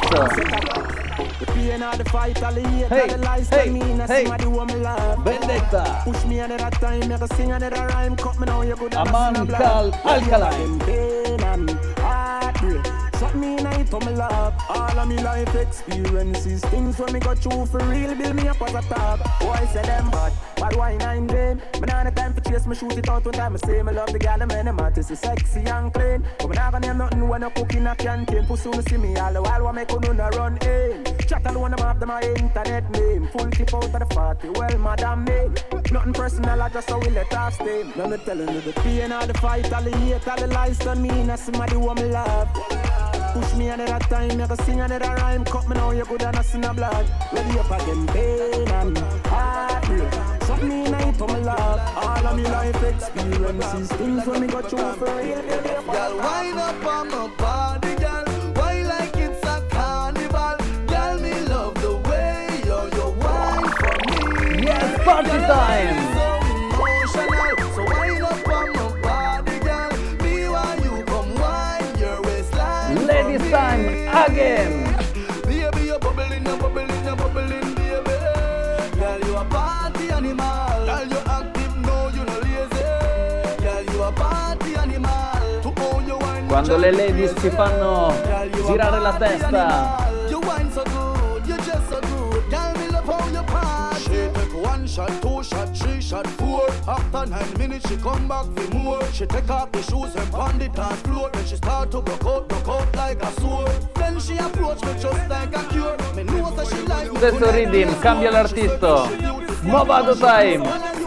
next. The pain of the fight, all the hate, Hey, all the lies hey, to me, and hey. somebody want me love. Vendetta. Push me another time, make a sing another rhyme, cut me now, you could have Aman seen a blood. Kal Alkaline. Pain and heartbreak, something me night for me love. All of me life experiences, things when me go through for real, build me up as a top. Boy say them bad, bad wine and game. But now the time for chase me, shoot it out one time. I say me love the girl, the man, them artists is sexy and clean. But me not gonna name nothing when I cook in a canteen. Pussy me see me all the while, what make you no run in. Chat all one of them my internet name. Full tip out of the party, well madam me. Nothing personal, I just how we let off steam. Now me telling you the pain of the fight, all the hate, all the lies done me. Now somebody want me love. Push me another time, make a sing another rhyme. Cut me now, you good and I see no blood. Ready up again, pain and heartbreak. Something me night for me love. All of me life experiences, things when me go through for real. Girl, wind up on my body, girl. Why like it's a carnival? Girl, me love the way you're your wine for me. Yes, party time. So emotional, so wind up on my body, girl. Me while you come wine your waistline. Ladies time again. Baby, you're bubbling, you're bubbling, you're bubbling, baby. Girl, you a party animal. Girl, you active, no, you no lazy. Girl, you a party animal. To own your wine. Quando le ladies ci fanno girare la testa. You wine so good, you just so good. Girl, me love how you party. She take one shot, two shot, three shot, four. After nine minutes, she come back for more. She take off the shoes and pound the dance floor. Then she start to broke out, broke out like a sword. Then she approach me just like a cure. Me know that she like me. Stesso rhythm, cambia l'artista. Movado time.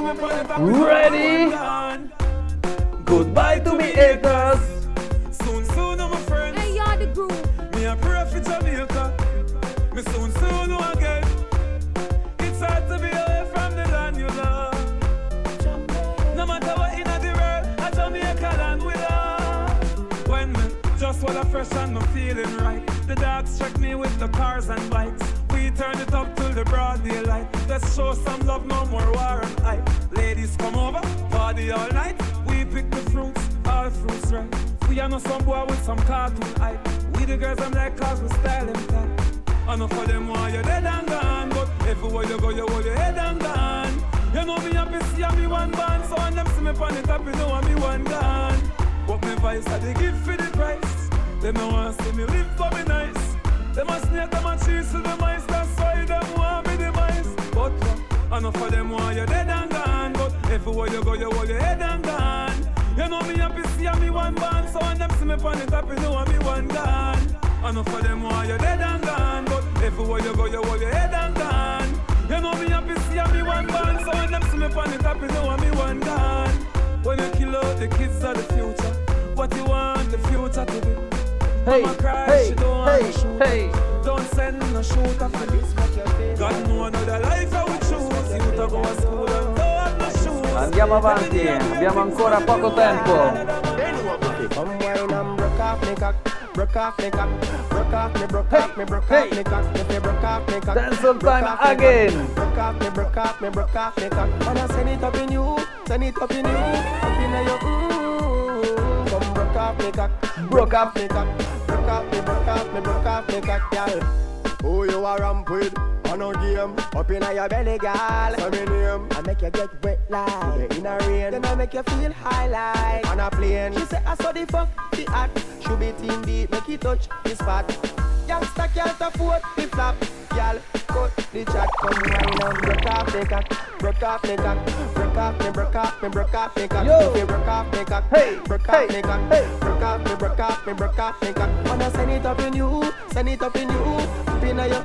Ready? Goodbye to me haters. Soon, soon, I'm a friend. Hey, you're the groove. Me a pray for Jamaica. Me soon, soon, again. It's hard to be away from the land you love. No matter what in the world, a Jamaica land we love. When me just wanna fresh and I'm feeling right. The dogs check me with the cars and bikes. We turn it up till the broad daylight. Let's show some love, no more war and hype. Ladies come over, party all night. We pick the fruits, all fruits right. We are not some boy with some cartoon hype. We the girls I'm like cause we style them tight. I know for them why you're dead and gone. But everywhere you go you hold your head and gone. You know me happy see me one band. So when them see me on the top you know me one gone. But me vice I they give for the price. Them no want see me live for me nice. Them a snake, them a cheese to the mice. That's why them want me the mice. But uh, I know for them why you're dead and gone. But everywhere you go you hold your head and gone. You know me happy see me one band. So when them see me on the top you know me one gone. I know for them why you're dead and gone. But everywhere you go you hold your head and gone. You know me happy see me one band. So when them see me on the top you know me one gone. When you kill out the kids of the future, what you want the future to be? Hey, Mama cry, hey, she don't hey, wanna shoot. hey. Don't send no shooter for this. God know another life I would choose. You to go to school and don't have no shoes. Andiamo avanti, abbiamo ancora poco tempo. Come wine and broke off me cock, broke off me cock, broke off me, broke off me, broke off me cock. If you broke off me cock, Dancehall time again. broke off me, broke off me, broke off me cock. And I send it up in you, send it up in you, up in your ooh. Come broke off me cock, broke off me cock, broke off me, broke off me, broke off me cock, girl. Who you a ramp with? On a game. Up in your belly, girl. Say me name. I make you get wet like in a rain. Then I make you feel high like On a plane. She say I saw the fuck the act. Should be team deep, make it touch the spot. Youngster can't afford the flap. Y'all cut the chat. Come wine and broke off the cock. Broke off the cock. Broke off me, broke off me, broke off the cock. Yo. If you broke off the cock, Hey, broke hey, off the cock. hey. Broke off me, broke off me, broke off the cock. Wanna send it up in you, send it up in you. Up in your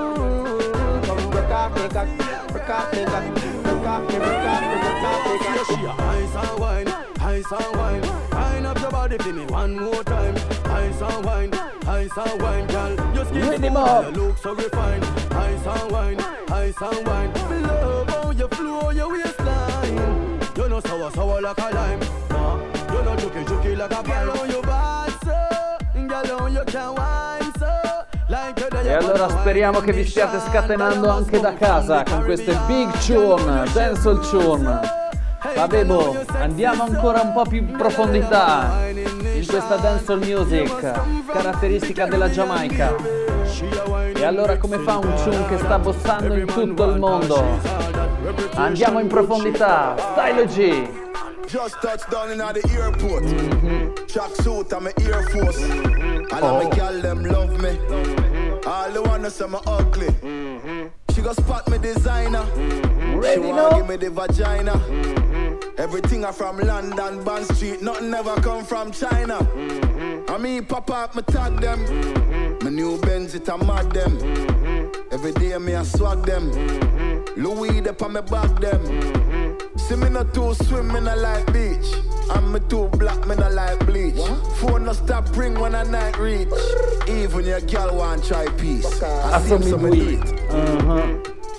mm. Come broke off the cock. Broke off the cock. Broke off me, broke off me, broke off the cock. She a ice and wine, ice and wine. Wine up your body for me one more time. Ice and wine, ice and wine, girl. Your skin Rhythm smooth up. and you look so refined. Ice and wine, ice and wine. Me love how you flow your waistline. You know sour, sour like a lime. Nah, you know juky, juky like a pine. Girl, how you bad so, girl, how you can wine so. Like you E allora speriamo che vi stiate scatenando anche da casa con queste big tune, dancehall tune. Vabbè, boh, andiamo ancora un po' più in profondità in questa dancehall music, caratteristica della Giamaica. E allora come fa un tune che sta bossando in tutto il mondo? Andiamo in profondità, Stylo G. Just touched down in the airport. Mm-hmm. Track suit and my Air Force. Mm-hmm. And all my gal them love me. Mm-hmm. All the ones say me ugly. Mm-hmm. She go spot me designer. Mm-hmm. She wanna give me the vagina. Mm-hmm. Everything I from London, Bond Street. Nothing ever come from China. Mm-hmm. I mean pop up, me tag them. Mm-hmm. My new Benz it a mad them. Mm-hmm. Every day me I swag them. Mm-hmm. Louis up on me back them. Mm-hmm. See me not too swim, me not like beach. And me too black, me not like bleach. What? Phone no stop ring when a night reach. Even your girl want try peace. I see him, so me do it. Uh-huh.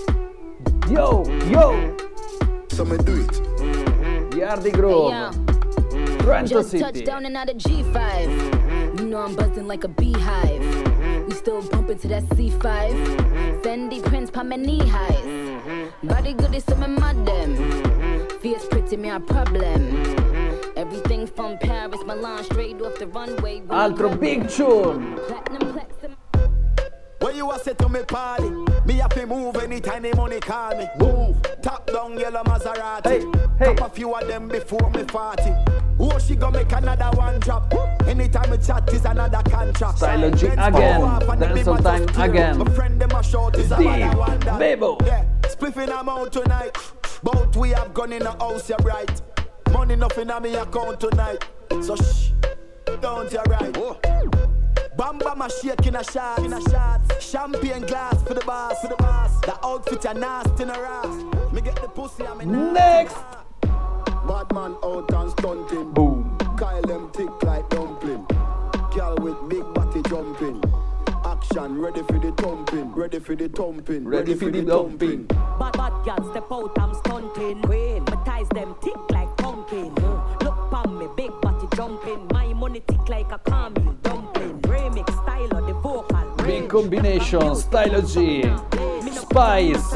Yo, yo. So me do it. Yardi Grove. Hey, Trento just City. touched down and out of G five. You know I'm buzzing like a beehive. We still bumping to that C five. Fendi prints pa my knee highs. Body good is some mad them. Fierce pretty me a problem. Everything from Paris, Milan, straight off the runway. Altro big tune. Platinum platinum. When you a say to me party, me have to move anytime the money call me. Move, top down yellow Maserati. Hey, hey. Top a few of them before me party. Oh, she gonna make another one drop. Anytime we chat is another contract. Stylo G again, dancehall time again. My friend them a short is Steve, a one that. Bebo. Yeah, spliffing them out tonight. Both we have gun in the house, you're right. Money nothing on me account tonight. So shh, don't you right. Oh. Bam bam a shake in a shot, in a shot. Champagne glass for the boss, for the boss. The outfit a nasty in a ass. Me get the pussy and me next. Bad man out and stunting. Boom. Kyle them thick like dumpling. Girl with big body jumping. Action ready for the thumping, ready for the thumping, ready, ready for the dumping. Bad bad girl step out, I'm stunting. Queen, my ties them thick like pumpkin. Look pon me, big body jumping. My money thick like a caramel dumpling. Remix style of the vocal. Big combination, Stylo G, Spice.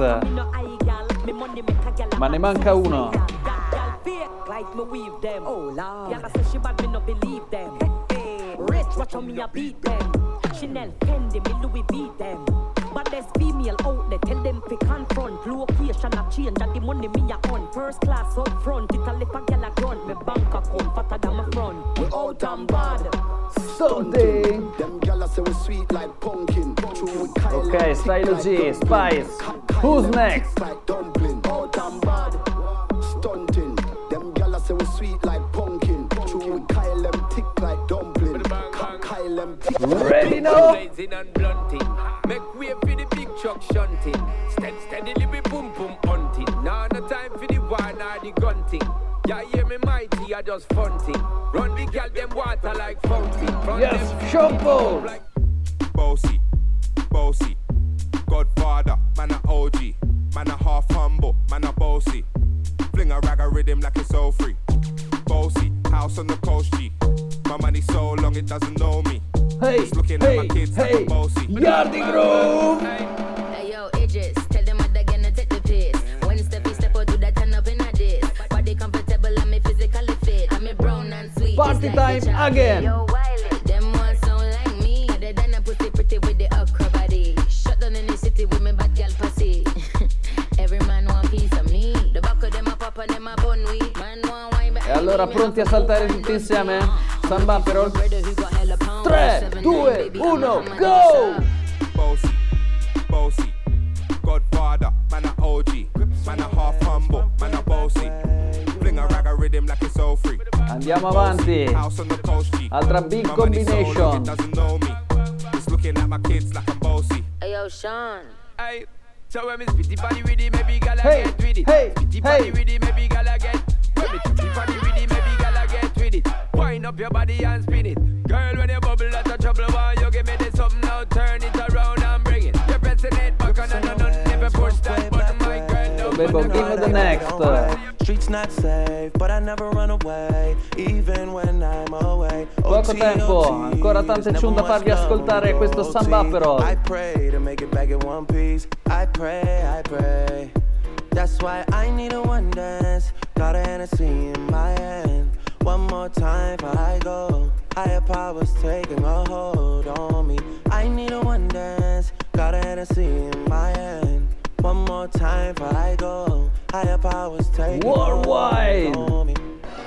Ma ne manca uno. Like me weave them. Oh Lord. Yeah, say she bad, me no believe them. Hey, rich, watch how me a beat them. Chanel, Fendi, me Louis V them. But there's female out there, tell them to confront. Location a change, and the money me a on. First class up front, it a lip a gyal a grunt. Me bank account fatter than my front. We out and bad. Something. Them gyal say we sweet like pumpkin. Okay, Stylo G, Spice. Who's next? Like dumpling. Out and bad. Stunting. Them gyal say we sweet like pumpkin. True with Kyle them thick like dumpling. Kyle them thick. Ready now? Blazing and blunting. Make way for the big truck shunting. Stead steadily we boom boom hunting. Now no time for the wine or the gunting. Yeah, hear me mighty, I just funting. Run the gal them water like fountain. Run yes, shampoo. Like bossy, bossy. Godfather, man a O G. Man a half humble, man a bossy. Fling a rag a rhythm like it's all free. Bossy, house on the coast G. My money so long it doesn't know me. Hey, just looking hey, at my kids hey, like a bossy. Yardi Grove. Hey yo, Idris, tell them what they're gonna take the piss. When Steffi step out, do that turn up in a diss. Body comfortable, I'm me physically fit. I'm me brown and sweet. Party time again. Yo, Wiley, them ones sound like me. Other than a pussy pretty with the okra body. Shut down in the city with me bad girl pussy. Every man want piece of me. The back of them a pop and them a bun weed. Man want wine. E allora pronti a saltare tutti insieme? Samba però. tre, due, uno, go! Bossy, bossy. Godfather, man a O G. Man a half humble, man a bossy. Fling a rag a rhythm like it's all free. Andiamo avanti. Altra big combination. Just looking at my kids like I'm bossy. Hey yo, Sean. Hey, so when me spitty body with it, maybe gala Hey, get with it. hey, Spitty hey. body with it, maybe gala get. When me spitty body with it, maybe gala get with it. Wind up your body and spin it. Girl, when you bubble, that's a trouble. Why you give me this something now? Turn it around and bring it. You're pressing it back on and on. Never push that button, my girl. Bebo, give me the next. streets not safe, but I never run away, even when I'm away. Poco tempo, ancora tante tune da farvi ascoltare questo Samba Aperol. I pray to make it back in one piece. I pray, I pray. That's why I need a one dance. Got a Hennessy in my hand. One more time before I go. Higher powers taking a hold on me. I need a one dance. Got a Hennessy in my hand. One more time before I go. Higher powers taking a hold on me.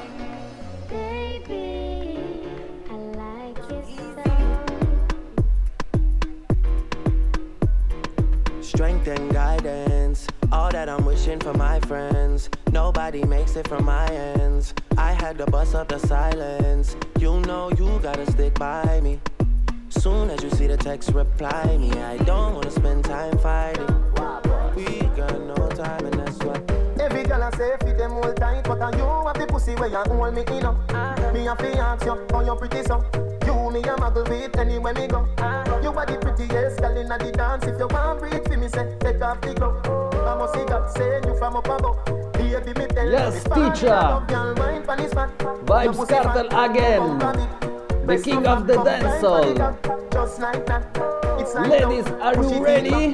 Strength and guidance, all that I'm wishing for my friends. Nobody makes it from my ends. I had to bust up the silence. You know you gotta stick by me. Soon as you see the text, reply me. I don't wanna spend time fighting. We got no time and that's what. Every girl I say fit them all tight, but are you have the pussy where you hold me in up? Me a fi ask you, how you pretty so? You me a muggle with anywhere me go. You are the prettiest girl inna the dance. If you want breathe for me, say take off the glove. I must see God send you from up above. Baby me tell Yes, teacher. Vibes Cartel again. The king of the dancehall. Ladies, are you ready?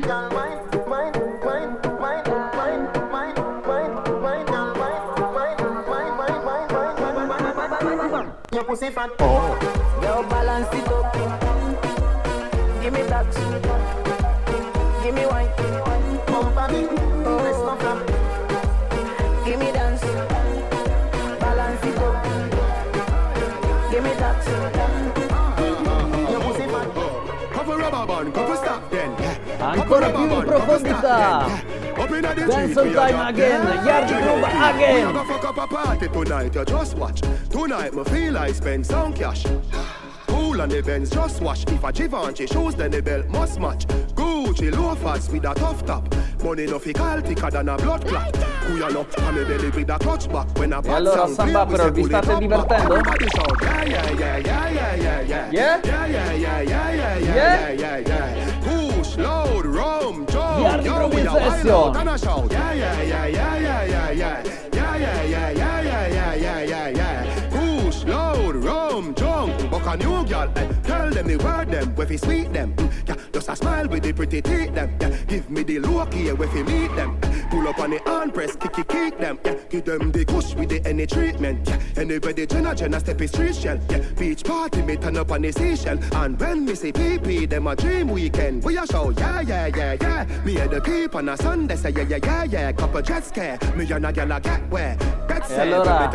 Your pussy fat. Oh. Girl, balance it up. Give me that. Give me wine. Bump a bit. Press my flap. Give me dance. Balance it up. Give me that. Your pussy fat. Cover rubber band, cover stop then. Ancora più in profondità. Dancehall time again, Yard Groove again. Fuck up a party tonight, you just watch. Tonight me feel I spend some cash. Cool on the Benz, just watch. If a Givenchy shoes, then the belt must match. Gucci loafers with a tough top. Money no fickle thicker than a blood clot. Who you know, I'm a belly with a clutch back. When a E allora Samba Aperol, vi state divertendo? Yeah, yeah, yeah, yeah, yeah, yeah, yeah. Yeah? Yeah, yeah, yeah, yeah, yeah, yeah, yeah, yeah. Push, load, rum, jump. Yard Groove in session. Yeah, yeah, yeah, yeah, yeah, yeah, yeah. Yeah, yeah, yeah, yeah, yeah, yeah, yeah, yeah, yeah. Push, load, rum, jump. Buck a new girl, eh. Tell them the word them, where fi sweet them. Mm, yeah, just a smile with the pretty teeth them. Yeah, give me the low key where fi meet them. Pull up on the hand press, kick it, kick them. Yeah, give them the kush with the any treatment. Yeah, anybody Jenna Jenna step is street shell. Yeah, beach party me turn up on the seashell. And when me say P P, them a dream weekend. We a show, yeah, yeah, yeah, yeah. Me and the peep on a Sunday say yeah, yeah, yeah, yeah. Couple jet scare, me and a girl a get where. That's E allora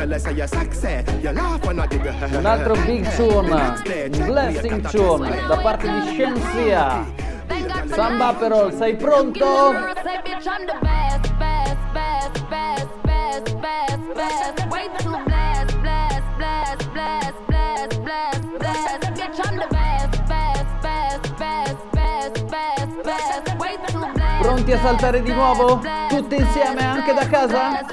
un altro big tune, un blessing tune da parte di Scienzia. Samba Aperol, sei pronto? Pronti a saltare di nuovo? Tutti insieme anche da casa?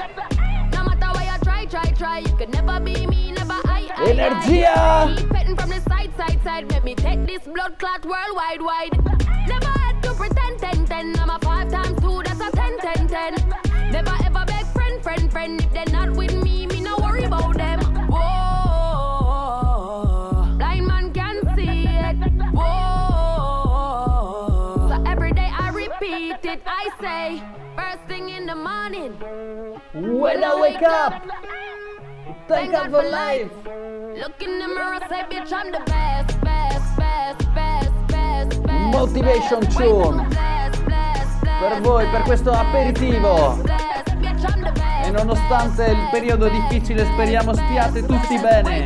Energia! Petting from the side, side, side. Let me take this blood clot worldwide, wide. Never had to pretend, ten, ten. I'm a five times two, that's a ten, ten, ten. Never ever beg friend, friend, friend. If they're not with me, me no worry about them. Whoa, blind man can see it. Whoa, so every day I repeat it. I say, first thing in the morning, when I wake up, thank God for life. Look in the mirror, say bitch I'm the best, best, best, best, best, best. Motivation tune per voi, per questo aperitivo. E nonostante il periodo difficile, speriamo stiate tutti bene.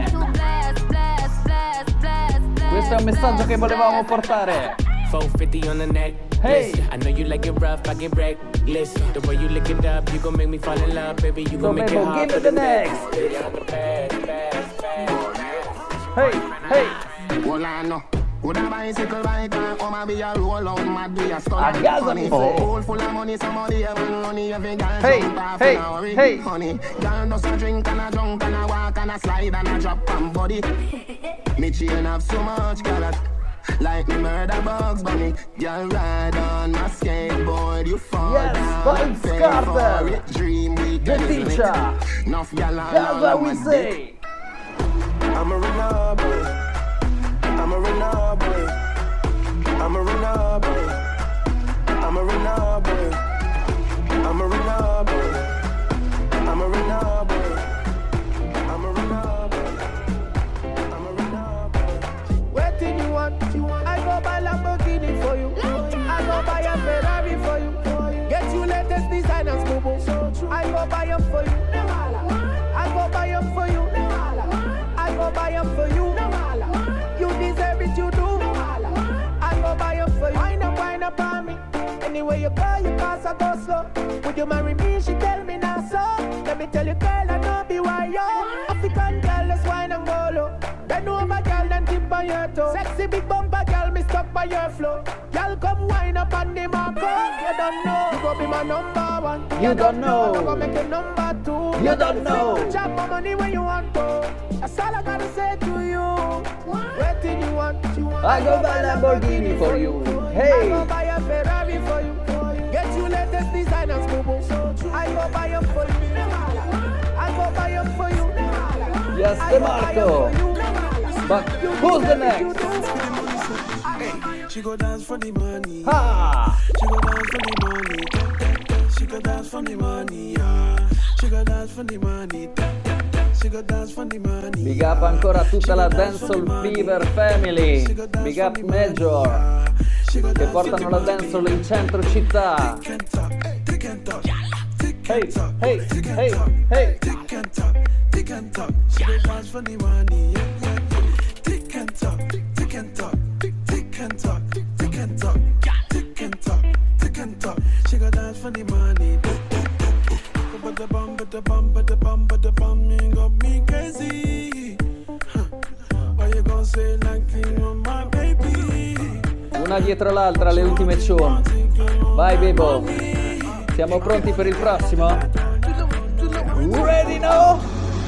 Questo è un messaggio che volevamo portare. four fifty on the neck. Hey, I know you like it rough, I get reckless. The way you lick it up, you gon' make me fall in love, baby. You gon' make it hard. Give it the next. Hey, hey. Would a bicycle biker, or maybe a roll out, mad be a stun. A gas on Pool full of money, somebody have money, every girl hey, jump off hey, and a hey. Honey, girl does a drink and a drunk and a walk and a slide and a drop and body. Me chain have so much carrot. Like me murder Bugs Bunny. Girl ride on my skateboard, you fall yes, down and pay Carter. for it. Dream week, The teacher. That's what we say. I'm a renal boy. I'm a renal boy. I'm a renal boy. I'm a renal boy. I'm a renal boy. I'm a renal boy. I'm a renal boy. I'm a renal boy. What do you want? I go buy Lamborghini for you. I go buy a Ferrari for you. Get you latest designers, boo. I go buy them for you. I go buy them for you. I go buy them for you. You deserve it, you do. I go buy them for you. Wind up, wind up on me. Anyway you go, you pass a go slow. Would you marry me? She tell me now so. Let me tell you, girl, I know be why yo. African girl, let's wine and go low. Then over girl, then tip on your toe. Sexy big bumper girl, me stuck by your flow. Girl, come wine up on the marco. You don't know, you go be my number one. You don't know. I go make you number two. You don't know. Chop my money when you want to. That's all I gotta say to you. What did you want? I go buy Lamborghini for you. Hey. I go buy a Ferrari for you. Get you latest designers, boo boo. I go buy them for you. I go buy them for you. Yes, I De go buy 'em Marco. for you. But who's the next? She go dance for the money. Ha! She go dance for the money. She go dance for the money. Yeah. She go dance for the money. She go dance for the money. Big up ancora a tutta la Dancehall Fever Family. Big up Major, che portano la dancehall in centro città. Hey, hey, hey, hey. Tick and talk, she go dance for the money. Tick and talk, tick and talk, tick and talk, tick and talk, tick and talk, tick and talk. She go dance for the money. But the bum, but the bum, but the bum, but the bum, you got me crazy. Why you gonna say nothing on my baby? Una dietro l'altra le ultime tune. Vai Bebo. Siamo pronti per il prossimo? Ready now?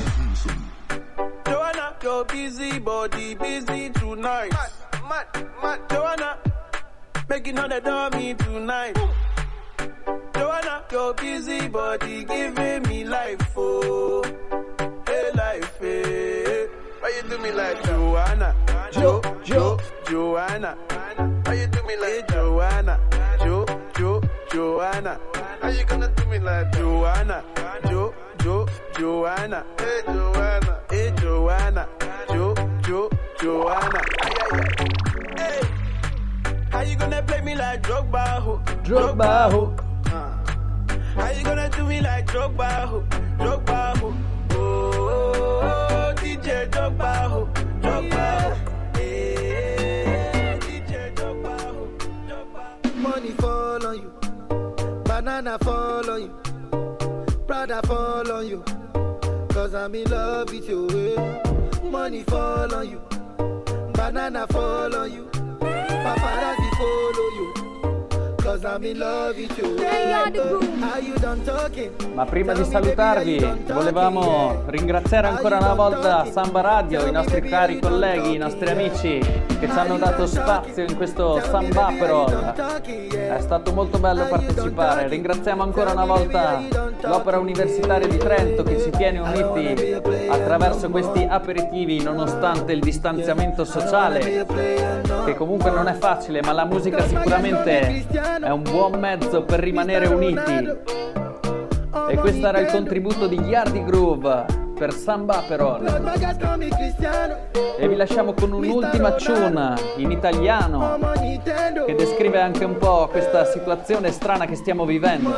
Joanna, your busy body busy tonight. Mad, mad, mad. Joanna, making all the dummy tonight. Joanna, your busy body giving me life, oh, hey life, hey. Why you do me like Joanna? Jo, Jo, Joanna. Why you do me like Joanna? Jo, Jo, Joanna. How you gonna do me like Joanna? Jo, Jo, Joanna. Hey Joanna, hey Joanna. Jo, Jo, Joanna. Ay, ay, ay. Hey, how you gonna play me like Drogba? Ho? Drogba. Ho. How you gonna do me like Drogba? Ho? Drogba. Ho? Oh, oh, oh, D J Drogba. Ho? Drogba. Ho? Hey, D J Drogba. Ho? Drogba. Money fall on you, banana fall on you, Prada fall on you, cause I'm in love with you. eh. Money fall on you, banana fall on you, paparazzi follow you, cause I'm in love with you. Are you done talking? Ma prima di salutarvi volevamo ringraziare ancora una volta Samba Radio, i nostri cari colleghi, i nostri amici che ci hanno dato spazio in questo Sambaperol. È stato molto bello partecipare. Ringraziamo ancora una volta l'Opera Universitaria di Trento che ci tiene uniti attraverso questi aperitivi nonostante il distanziamento sociale, che comunque non è facile, ma la musica sicuramente è un buon mezzo per rimanere uniti. E questo era il contributo di Yardi Groove per Sambaperol. E vi lasciamo con un'ultima tune in italiano che descrive anche un po' questa situazione strana che stiamo vivendo.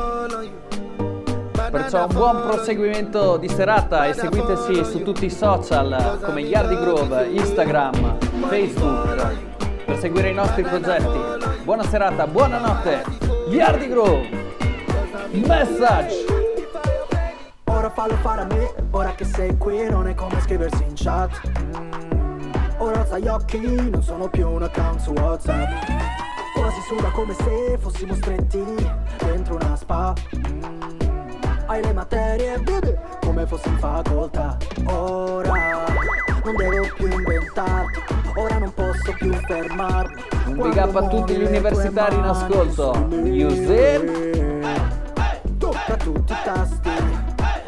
Perciò un buon proseguimento di serata e seguiteci su tutti i social come Yardi Groove, Instagram, Facebook, per seguire i nostri progetti. Buona serata, buonanotte, Yardi Groove. Message. Ora fallo fare a me, ora che sei qui non è come scriversi in chat. mm. Ora alza gli occhi, non sono più un account su WhatsApp. Ora si suda come se fossimo stretti dentro una spa. mm. Hai le materie, baby, come fossi in facoltà. Ora non devo più inventarti, ora non posso più fermarmi. Un big up a tutti gli universitari in ascolto. Music. Tocca tutti i tasti,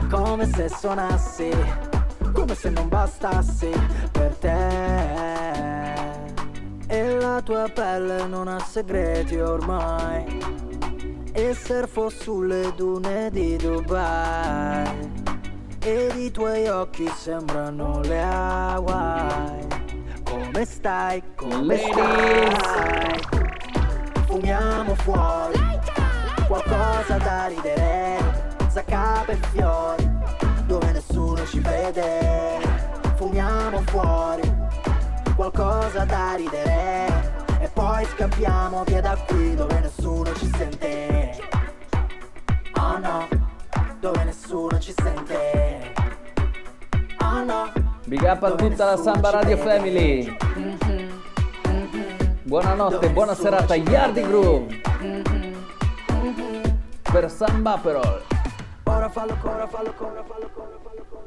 come se suonassi, come se non bastassi per te. E la tua pelle non ha segreti ormai, e surfo sulle dune di Dubai, ed i tuoi occhi sembrano le Hawaii. Come stai? Come stai? Fumiamo fuori, qualcosa da ridere, zaccape e fiori, dove nessuno ci vede. Fumiamo fuori, qualcosa da ridere, e poi scappiamo via da qui dove nessuno ci sente. Oh no, dove nessuno ci sente. Oh no. Big up a tutta la Samba Radio Family. Buonanotte, buona serata, Yardi Groove. Per Samba Perol. Ora fallo, ora fallo, ora fallo, ora fallo.